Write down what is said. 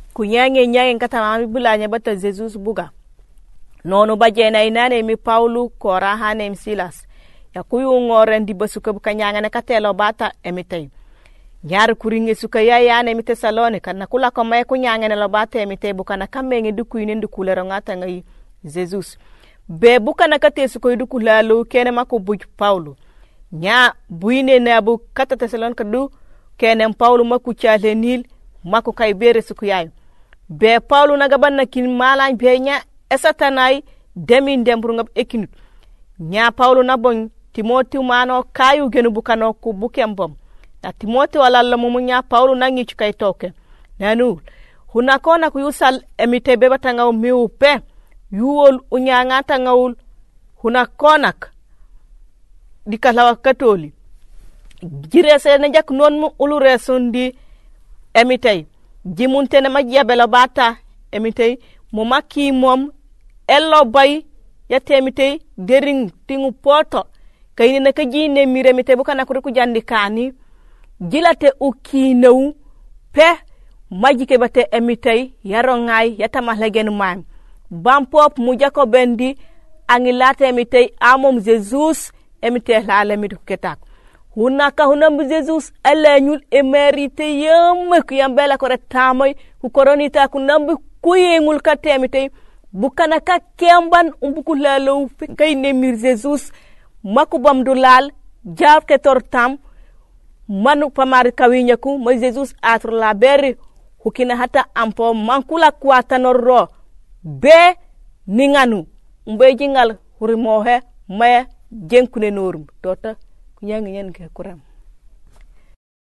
ku nyange ngata mami bulanya bata Jesus buga nonu bajena inane mi Paulo kora hanem Silas ya kuyu ngoren di basuka buka nyanga na katelo bata emitay nyar kuringe suka ya ne mi Tesalonika na kula ko may ku nyanga na lobata emitay buka na kamenge du kuyine du kulero ngata ngai Jesus be buka na kate suka du kulalo kene mako buj Paulo nya buine na bu kata Tesalonika du kene Paulo maku chale nil mako kay bere suku yayo be Paulo na gaban na kin malan be nya esatanai demin dembru ngab ekinut nya Paulo na bon Timoti mano kayu genu bukano ku bukembom na Timoti wala lamu nya Paulo na ngi chukay toke nanu hunakona ku yusal emite be batanga miu pe yuol unyanga tangaul hunakonak dikalawa katoli jirese na jak non mu ulure sundi emitay jimunte na majabelo bata emitay mo makki mom ello bay yatemitay dering tingu poto kayni na kajine miremite bukana ku jandi kani jilate ukinew pe majike bate emitay yarongay yatama legen man bampop mu jako bendi angilate emitay amom Jesus emite la lemidu ketak hunaka hunam Jesus alanyul emerite yam ku yambela ko retamay ku koronita ku nambu kuyengul katemite bukana ka kemban umbuku lalo kayne mir Jesus makubam dulal jab ke tortam manu pamar kawinyaku mo Jesus atro la beri hukina hata ampo mankula kwata norro be ninganu mbe jingal hurimohe maya jenkune norum tota kunyangi nyen ke kuram